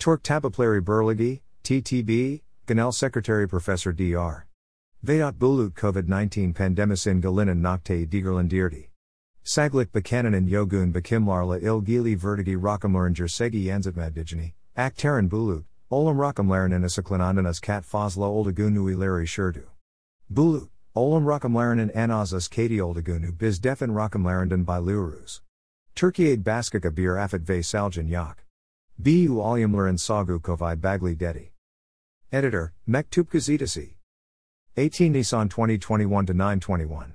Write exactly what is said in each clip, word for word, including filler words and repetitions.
Torque Tabaplari Burligi, T T B, Ganel Secretary Professor Doctor Vedat Bulut COVID nineteen Pandemis in Galinan Nocte Digerlandirdi. Saglik Bakanan and Yogun Bakimlarla Ilgili Vertigi Rakamlaran Jersegi Yanzatmaddigini, Aktaran Bulut, Olam Rakamlaran and Asaklanandanas Kat Fazla Oldagunu Ileri Shurdu. Bulut, Olam Rakamlaran and Anazas Kati Oldagunu Biz Defin Rakamlarandan by Lurus. Turkiade Baskaka Bir Afat Ve Saljan Yak. Bu Alyamlaran Sagu Kovai Bagli Dedi. Editor, Mektup Gazetasi. eighteen Nisan twenty twenty-one to nine twenty-one.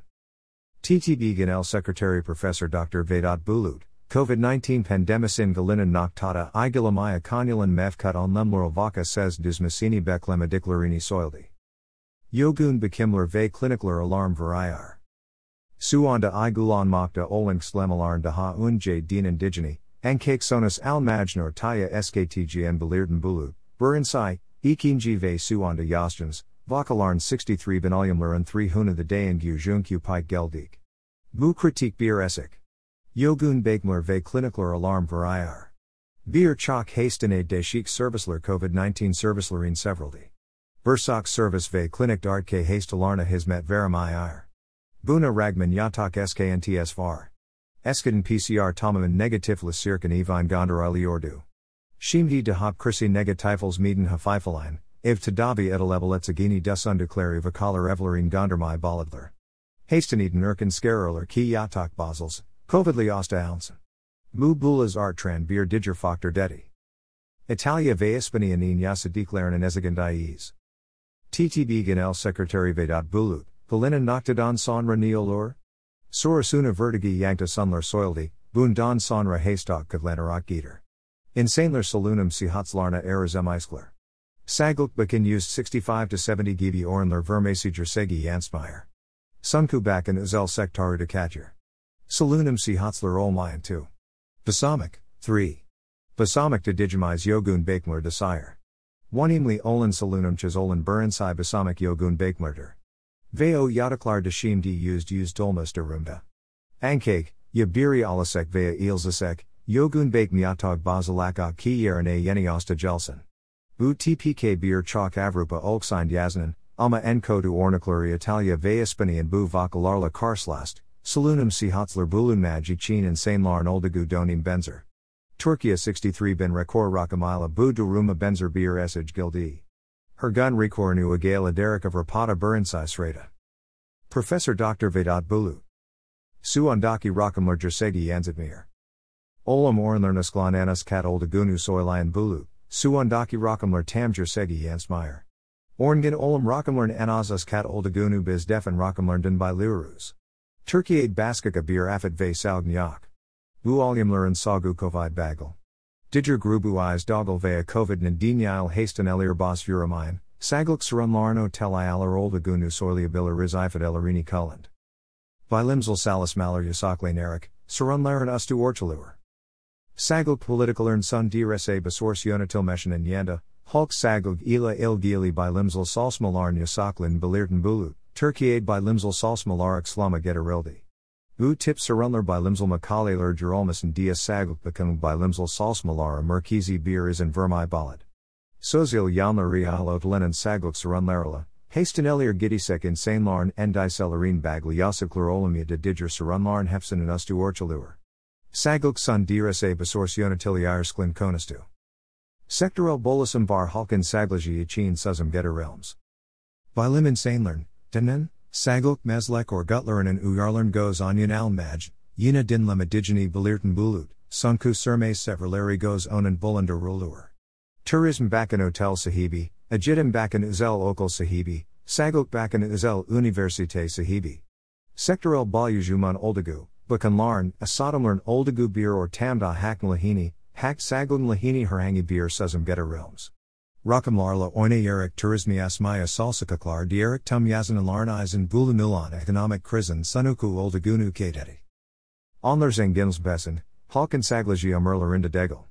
T T B Ganel Secretary Professor Doctor Vedat Bulut, COVID nineteen Pandemis in Galinan Noktata Igalamaya Konulan Mevkut on Lemlurovaka says Dizmasini Beklema Diklarini Soildi. Yogun Bekimler Ve Klinikler Alarm Varayar. Suanda Igulan Mokta Olink Slemalarn Daha Unj Din Indigeni, Ankake Sonas Al Majnor Taya Sktgn Belirden Bulut, Burinsai, Ikinji Ve Suanda Yastans, Vakalarn sixty-three Benalyumler three Huna the Day and Gyujunkyu Pike Geldik. Bu Kritik Bir Esik. Yogun Bekmler Ve Klinikler Alarm Varayar. Bir Chok Hastane Deshik Serviceler COVID nineteen Servicelerine Severaldi. Bursak Service Ve Klinik Dartke Hastalarna Hizmet Veramiyar. Buna Ragman Yatak Sknts Var. Eskiden P C R Tamaman Negatiflis Sirkan Evine Gondar Ordu. Shimdi de Hop Chrissy Negatifels Meeden Hafifalein, Ev Tadavi Edeleveletsagini Dus Undeclare Vakalar Evlerine Gondarmai Bolidler. Hasteneden Erken Scaroler Ki Yatak Basels, Covidli Osta Ounsen. Mu Bulas Artran Bir Diger Faktor Dedi. Italia Ve Ispanianine Yasa Declaren and Ezegandais. T T B Ganel Secretary Vedat Bulut, Galinan Noctadon Sonra Neolur? Sorasuna Vertigi Yankta Sunler Soildi, Bundan Sonra Haystok Kadlanarak Geeter. Insanler Salunum Sihatslarna Erazem Sagluk Bakin used sixty-five to seventy Gibi Ornler Vermasi Jersegi Jansmeyer. Sunku Bakan Uzel Sektaru de Katjer. Salunum Sihatsler Olmayan two. Basamik, three. Basamik de Digimize Yogun Bakemler Desire. one Imli Olin Salunum Chizolan Burinsai Basamik Yogun Bakemlerder. Veo Yadaklar de Shimdi used used Dolmas de Rumda. Ankake, Yabiri Alasek Vea Ilzasek, Yogun Bake Myatog Bazalaka Ki Yerane Yeniosta Jelson. U T P K Bir Chok Avrupa Olksind Yazanen, Ama Enko to Ornikluri Italia Veaspani and Bu Vakalarla Karslast, Salunum Sihatzler Bulun Magi Chin and Sainlarn Oldagu Donim Benzer. Turkia sixty-three Ben Rekor Rakamila Bu Duruma Benzer Bir Esage Gildi. Her gun Rekornu Agala Derek of Rapata Burinsai Sreda. Professor Doctor Vedat Bulut. Suandaki Rakamler Jersegi Yanzitmir. Olam Ornlernasklan Anas Kat Oldagunu Soilayan Bulut, Suandaki Rakamler Tam Jersegi Yansmeyer. Orngan Olam Rakamlern Anazas Kat Oldagunu Biz Defin Rakamlernden by Lirus. Turkiade Baskaka Bir Afat Ve Salgnyak. Bu Alyamlerin Sagu Kovid Bagel. Diger Grubu Eyes Doggle Vea Covid Nadinyil Hastan Elir Bas Uramayan, Sagluk Sarunlarno Telialar Oldagunu Soiliabiller Rizifat Elarini Kulland. Bilimsal Salis Malar Yasakle Narik, Sarunlaran Ustu Orchalur. Sagluk Politikalern Sun Drsa Basors Yonatil Meshan and Yanda, Hulk Sagluk Ila Ilgili Bilimsal Salsmalarn Yasaklin Belirtan Bulut, Turkiade Bilimsal Salsmalarik Slama Getarildi. U tip Sarunlar Bilimsal Makaleler Geralmas and Dias Sagluk Bakung Bilimsal Salsmalara Merkizi Bir is in Vermai Balad. Sozil Yamla Rialot Lenin Sagluk Sarunlarla, Hastanelier Gidisek in Sainlarn Endicelarine Bagli Yasikler Olamia de Diger Sarunlarn Hefsen and Ustu Orchalur. Sagluk Sun Drsa Basors Yonatiliar Sklin Konastu. Sectorel Bolusum Bar Halkin Saglaji Yachin Suzum Getter Realms. Bilimin Sainlarn, Denen, Sagluk Meslek or Gutlerin and Uyarlern goes Onyan Al Maj, Yina Dinlam Adigini Belirtan Bulut, Sunku Surme Severleri goes Onan Bulander Rulur. Tourism Bakan Hotel Sahibi, Ajidim Bakan Uzel Okal Sahibi, Sagluk Bakan Uzel Universite Sahibi. Sectorel Balyujuman Oldagu, Bakan Larn, Asadamlarn Oldagu Bir or Tamda Hakn Lahini, Hak Saglun Lahini Herhangi Bir Suzum Getter Realms. Rakamlarla Oine Erik Turismi Asmaya Salsakaklar Dierik Tum Yazan Alarnizan Bulunulan Economic Krizen Sunuku Oldagunu Kadeti. Onlerzang Ginsbesen, Halkan Saglaji Amerlarinda Degel.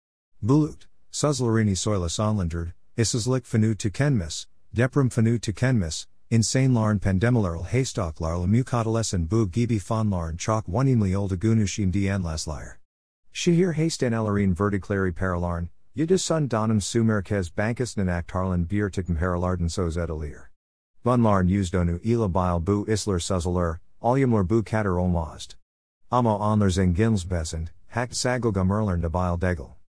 Bulut, Suzlarini Soila Sonlanderd, Isislik Fanu Tukenmis, Deprum Fanu Tukenmis, Insane Larn Pandemilarl Haystock Larl Mukadales and Bu Gibi Fon Larn Chalk Oneimli Oldagunu Shim Dian Laslier. Shahir Hastan Elarine Verticlari Paralarn, Yidus sun donum sumerkes bankus nanak tarlan bier tikum heralarden sos edelier. Bunlarn usdonu ela bile bu isler suzzler, aljumler bu kater olmazd. Amo onler zingins besend, hakt sagelga merlern de bile degel.